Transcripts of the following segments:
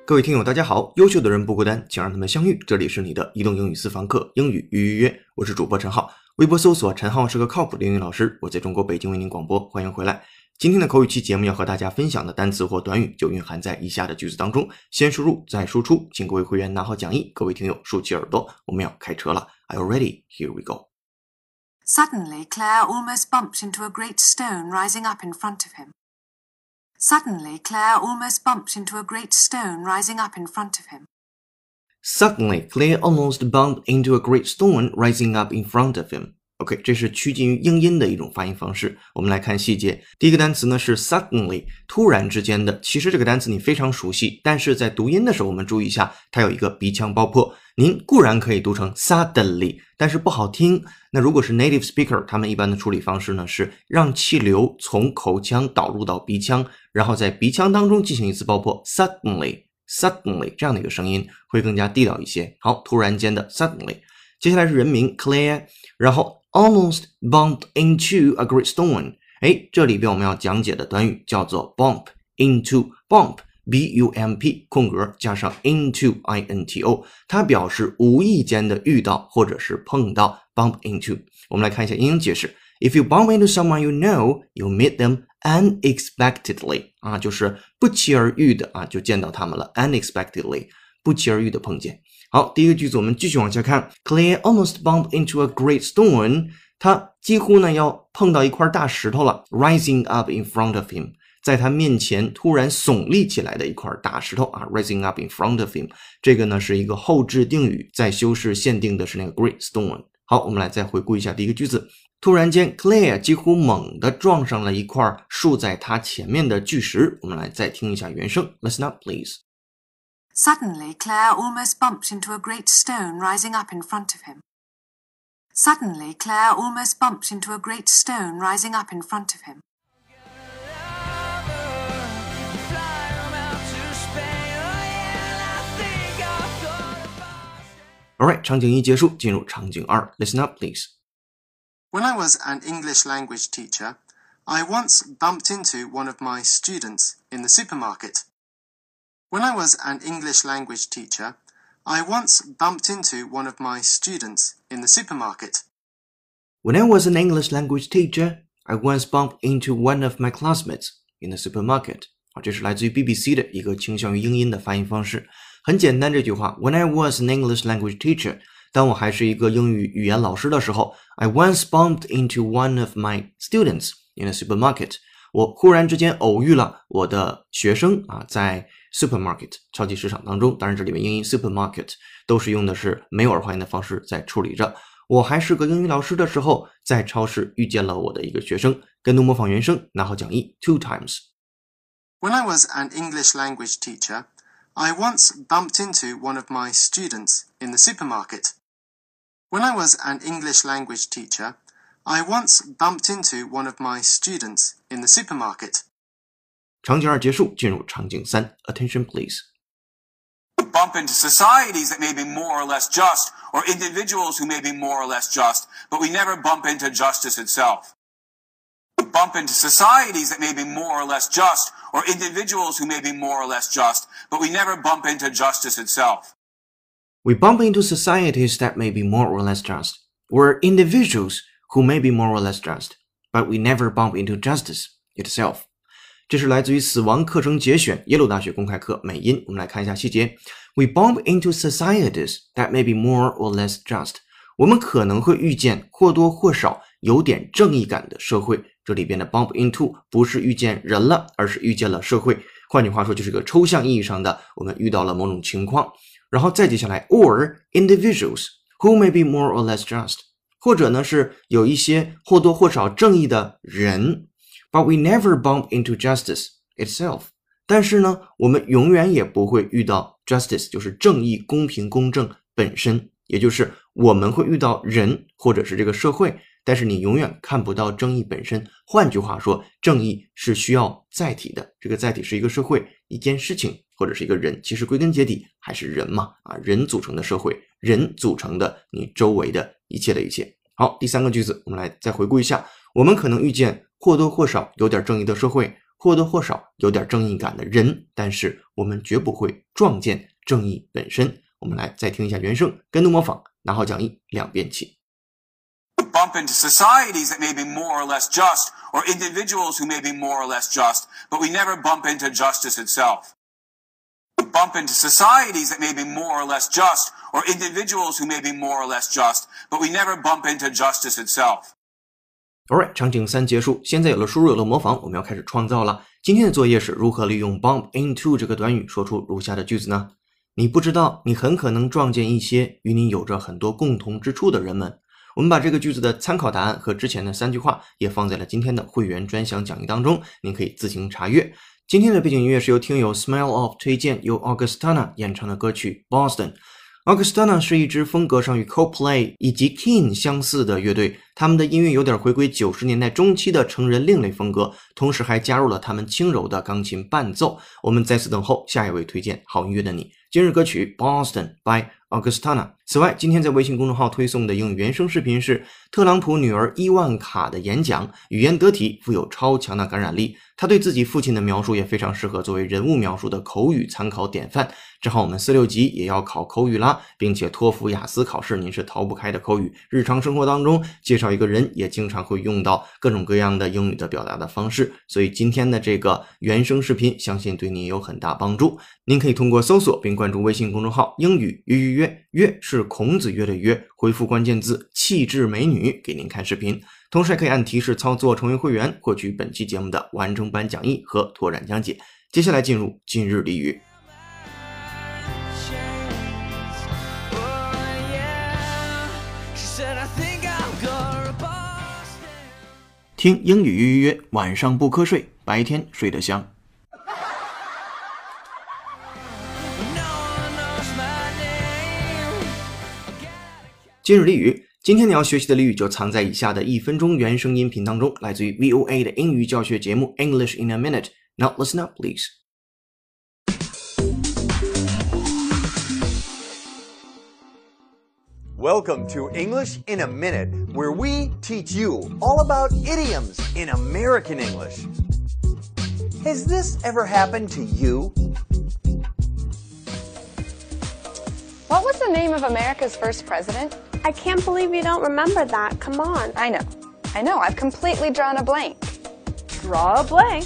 各位听友大家好，优秀的人不孤单，请让他们相遇。这里是你的移动英语私房课，英语预约，我是主播陈浩，微博搜索陈浩是个靠谱的英语老师，我在中国北京为您广播，欢迎回来。今天的口语期节目要和大家分享的单词或短语就蕴含在以下的句子当中，先输入再输出，请各位会员拿好讲义，各位听友竖起耳朵，我们要开车了。Are you ready? Here we go. Suddenly, Claire almost bumped into a great stone rising up in front of him. Suddenly, Claire almost bumped into a great stone rising up in front of him. Suddenly, Claire almost bumped into a great stone rising up in front of him. OK, 这是趋近于英音的一种发音方式。我们来看细节。第一个单词呢是 suddenly， 突然之间的。其实这个单词你非常熟悉，但是在读音的时候我们注意一下，它有一个鼻腔爆破。您固然可以读成 suddenly， 但是不好听。那如果是 native speaker， 他们一般的处理方式呢是让气流从口腔导入到鼻腔，然后在鼻腔当中进行一次爆破 suddenly 这样的一个声音会更加地道一些。好，突然间的 suddenly。接下来是人名 Claire， 然后almost bumped into a great stone。 这里边我们要讲解的短语叫做 bump into。 bump B-U-M-P 空格加上 into I-N-T-O， 它表示无意间的遇到或者是碰到 bump into。 我们来看一下英英解释。 If you bump into someone you know, you meet them unexpectedly， 就是不期而遇的就见到他们了 unexpectedly， 不期而遇的碰见。好，第一个句子我们继续往下看。 Claire almost bumped into a great stone， 她几乎呢要碰到一块大石头了 rising up in front of him， 在他面前突然耸立起来的一块大石头rising up in front of him， 这个呢是一个后置定语，在修饰限定的是那个 great stone。 好，我们来再回顾一下第一个句子。突然间 Claire 几乎猛地撞上了一块竖在她前面的巨石。我们来再听一下原声。 Listen up please. Suddenly, Claire almost bumped into a great stone rising up in front of him. Suddenly, Claire almost bumped into a great stone rising up in front of him. Alright, 场景一结束，进入场景二。 Listen up please. When I was an English language teacher, I once bumped into one of my students in the supermarket. When I was an English language teacher, I once bumped into one of my students in the supermarket. When I was an English language teacher, I once bumped into one of my classmates in the supermarket. 这是来自于 BBC 的一个倾向于英音的发音方式。很简单，这句话 When I was an English language teacher， 当我还是一个英语语言老师的时候， I once bumped into one of my students in the supermarket。 我忽然之间偶遇了我的学生在 supermarket 超级市场当中。当然这里面英音 supermarket 都是用的是没有儿化音的方式在处理着。我还是个英语老师的时候，在超市遇见了我的一个学生。跟读模仿原声，拿好讲义 two times. When I was an English language teacher, I once bumped into one of my students in the supermarket. When I was an English language teacher, I once bumped into one of my students in the supermarket. 场景二结束，进入场景三 Attention please. We bump into societies that may be more or less just, or individuals who may be more or less just, but we never bump into justice itself. We bump into societies that may be more or less just, or individuals who may be more or less just, but we never bump into justice itself. We bump into societies that may be more or less just, or individuals who may be more or less just, but we never bump into justice itself. 这是来自于死亡课程节选耶鲁大学公开课美音。我们来看一下细节。 We bump into societies that may be more or less just. 我们可能会遇见或多或少有点正义感的社会。这里边的 bump into 不是遇见人了，而是遇见了社会。换句话说，就是个抽象意义上的我们遇到了某种情况。然后再接下来 or individuals who may be more or less just， 或者呢是有一些或多或少正义的人。But we never bump into justice itself. 但是呢，我们永远也不会遇到 justice， 就是正义、公平、公正本身，也就是我们会遇到人或者是这个社会，但是你永远看不到正义本身。换句话说，正义是需要载体的，这个载体是一个社会、一件事情或者是一个人，其实归根结底还是人嘛，人组成的社会，人组成的你周围的一切的一切。好，第三个句子我们来再回顾一下，我们可能遇见或多或少有点正义的社会， 或多或少有点正义感的人，但是我们绝不会撞见正义本身。我们来再听一下原声，跟读模仿，拿好讲义，2遍起。 Bump into societies that may be more or less just, or individuals who may be more or less just, but we never bump into justice itself. Bump into societies that may be more or less just, or individuals who may be more or less just, but we never bump into justice itself. Alright， 场景3结束，现在有了输入有了模仿，我们要开始创造了。今天的作业是如何利用 bump into 这个短语说出如下的句子呢？你不知道，你很可能撞见一些与你有着很多共同之处的人们。我们把这个句子的参考答案和之前的3句话也放在了今天的会员专享讲义当中，您可以自行查阅。今天的背景音乐是由听友 Smile Off 推荐，由 Augustana 演唱的歌曲 Boston。Augustana 是一支风格上与 Coldplay 以及 Keane 相似的乐队，他们的音乐有点回归90年代中期的成人另类风格，同时还加入了他们轻柔的钢琴伴奏。我们在此等候下一位推荐好音乐的你。今日歌曲 Boston by Augustana。此外，今天在微信公众号推送的英语原声视频是特朗普女儿伊万卡的演讲，语言得体，富有超强的感染力。她对自己父亲的描述也非常适合作为人物描述的口语参考典范。正好我们46级也要考口语啦，并且托福雅思考试您是逃不开的口语。日常生活当中介绍一个人也经常会用到各种各样的英语的表达的方式，所以今天的这个原声视频相信对你有很大帮助。您可以通过搜索并关注微信公众号英语约，约是孔子约的约，回复关键字气质美女给您看视频，同时还可以按提示操作成为会员，获取本期节目的完整版讲义和拓展讲解。接下来进入今日俚语。听英语约，晚上不瞌睡，白天睡得香。今日俚语，今天你要学习的俚语就藏在以下的1分钟原声音频当中，来自于 VOA 的英语教学节目 English in a Minute。 Now listen up, please. Welcome to English in a Minute, where we teach you all about idioms in American English. Has this ever happened to you? What was the name of America's first president? I can't believe you don't remember that. Come on. I know. I've completely drawn a blank. Draw a blank.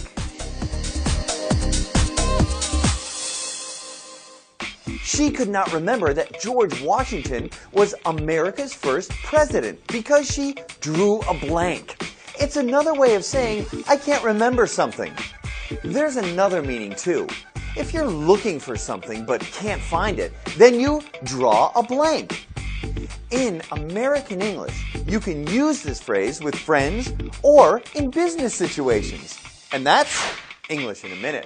She could not remember that George Washington was America's first president because she drew a blank. It's another way of saying, I can't remember something. There's another meaning too. If you're looking for something but can't find it, then you draw a blank. In American English, you can use this phrase with friends or in business situations. And that's English in a Minute.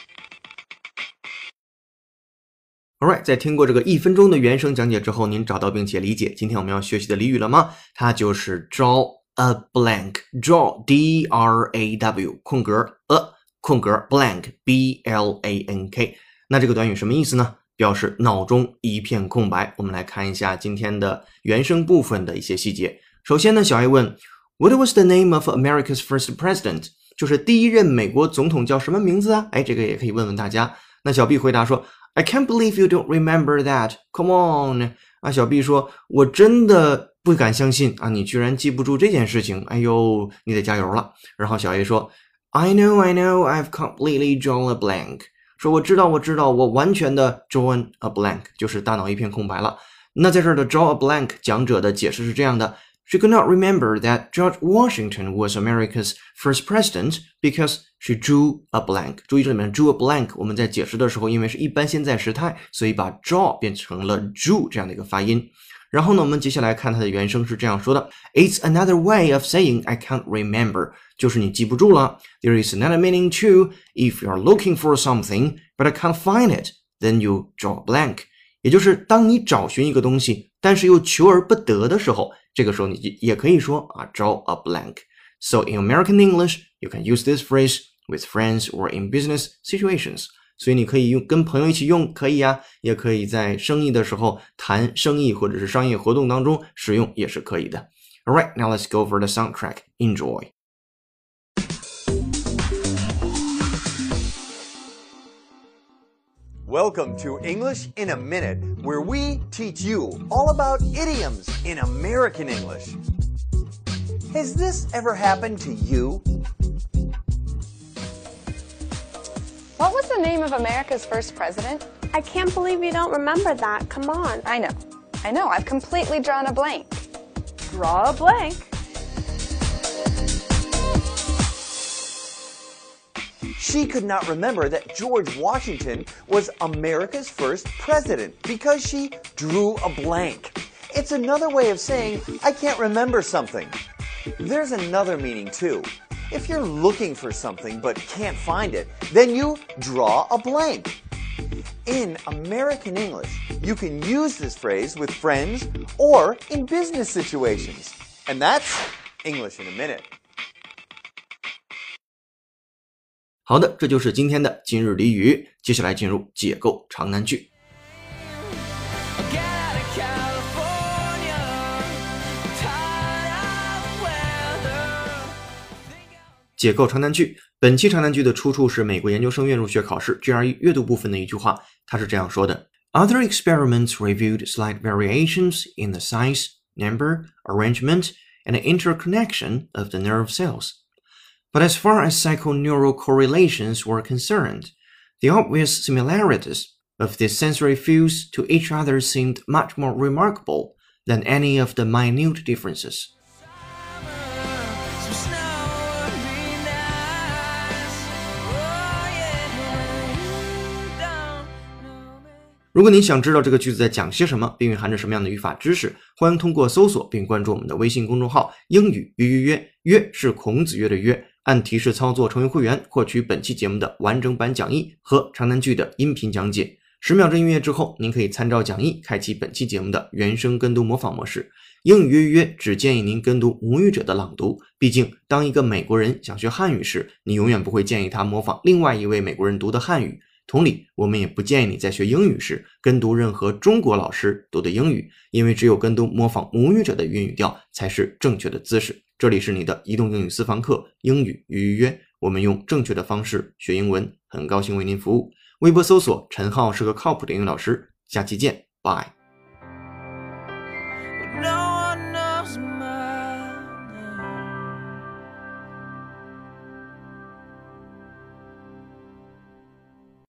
Alright， 在听过这个1分钟的原声讲解之后，您找到并且理解今天我们要学习的俚语了吗？它就是 draw a blank。 draw D-R-A-W 空格 a 空格 blank B-L-A-N-K。 那这个短语什么意思呢？表示脑中一片空白。我们来看一下今天的原声部分的一些细节。首先呢，小 A 问 What was the name of America's first president？ 就是第一任美国总统叫什么名字啊？这个也可以问问大家。那小 B 回答说I can't believe you don't remember that. Come on. 小 B 说我真的不敢相信你居然记不住这件事情。哎呦，你得加油了。然后小 A 说 I know, I've completely drawn a blank. 说我知道，我完全的 drawn a blank， 就是大脑一片空白了。那在这儿的 draw a blank 讲者的解释是这样的She could not remember that George Washington was America's first president because she drew a blank. 注意这里面 drew a blank 我们在解释的时候因为是一般现在时态，所以把 draw 变成了 drew 这样的一个发音。然后呢，我们接下来看它的原声是这样说的 It's another way of saying I can't remember. 就是你记不住了。There is another meaning too. If you're looking for something, but I can't find it, then you draw a blank. 也就是当你找寻一个东西，但是又求而不得的时候，这个时候你也可以说draw a blank. So in American English, you can use this phrase with friends or in business situations. 所以你可以跟朋友一起用，可以啊，也可以在生意的时候谈生意或者是商业活动当中使用也是可以的。Alright, now let's go over the soundtrack. Enjoy. Welcome to English in a Minute, where we teach you all about idioms in American English. Has this ever happened to you? What was the name of America's first president? I can't believe you don't remember that. Come on. I know. I've completely drawn a blank. Draw a blank. She could not remember that George Washington was America's first president because she drew a blank. It's another way of saying, I can't remember something. There's another meaning too. If you're looking for something but can't find it, then you draw a blank. In American English, you can use this phrase with friends or in business situations. And that's English in a Minute. 好的，这就是今天的今日俚语。接下来进入解构长难句。解构长难句，本期长难句的出处是美国研究生院入学考试 GRE 阅读部分的一句话，它是这样说的 ：Other experiments revealed slight variations in the size, number, arrangement, and interconnection of the nerve cells. But as far as psychoneural correlations were concerned, the obvious similarities of these sensory fields to each other seemed much more remarkable than any of the minute differences. 如果您想知道这个句子在讲些什么，并蕴含着什么样的语法知识，欢迎通过搜索并关注我们的微信公众号英语约约约，约是孔子约的约，按提示操作成为会员，获取本期节目的完整版讲义和长难句的音频讲解。10秒钟音乐之后，您可以参照讲义开启本期节目的原声跟读模仿模式。英语约约约只建议您跟读母语者的朗读，毕竟当一个美国人想学汉语时，你永远不会建议他模仿另外一位美国人读的汉语。同理，我们也不建议你在学英语时跟读任何中国老师读的英语，因为只有跟读模仿母语者的韵语调才是正确的姿势。这里是你的移动英语私房课英语约约约，我们用正确的方式学英文，很高兴为您服务。微博搜索陈浩是个靠谱的英语老师，下期见，拜。